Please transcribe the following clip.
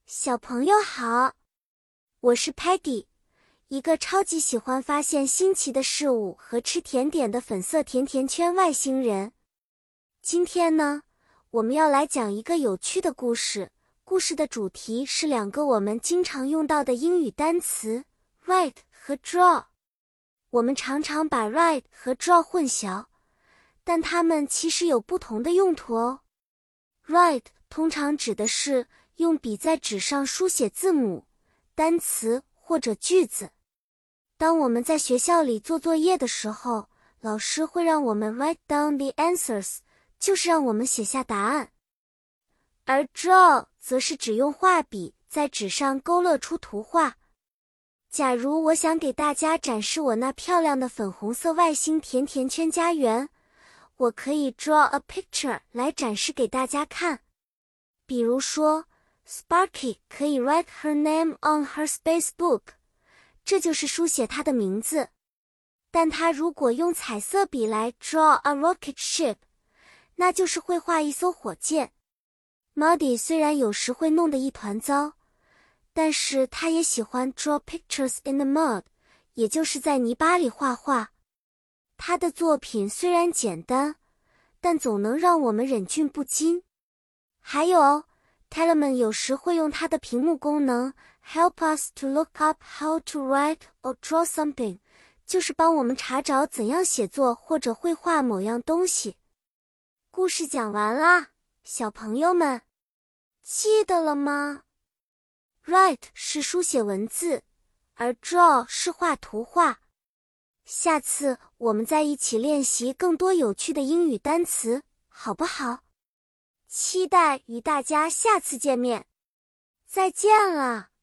小朋友好，我是 Patty， 一个超级喜欢发现新奇的事物和吃甜点的粉色甜甜圈外星人。今天呢，我们要来讲一个有趣的故事。故事的主题是两个我们经常用到的英语单词 write 和 draw。我们常常把 write 和 draw 混淆，但它们其实有不同的用途哦。write 通常指的是用笔在纸上书写字母、单词或者句子。当我们在学校里做作业的时候，老师会让我们 write down the answers， 就是让我们写下答案。而 draw 则是指用画笔在纸上勾勒出图画。假如我想给大家展示我那漂亮的粉红色外星甜甜圈家园，我可以 draw a picture 来展示给大家看。比如说Sparky 可以 write her name on her space book， 这就是书写她的名字。但她如果用彩色笔来 draw a rocket ship， 那就是会画一艘火箭。Muddy 虽然有时会弄得一团糟，但是他也喜欢 draw pictures in the mud， 也就是在泥巴里画画。他的作品虽然简单，但总能让我们忍俊不禁。还有Telemann 有时会用它的屏幕功能 help us to look up how to write or draw something， 就是帮我们查找怎样写作或者绘画某样东西。故事讲完啦，小朋友们，记得了吗？ Write 是书写文字，而 draw 是画图画。下次我们再一起练习更多有趣的英语单词，好不好？期待与大家下次见面。再见了。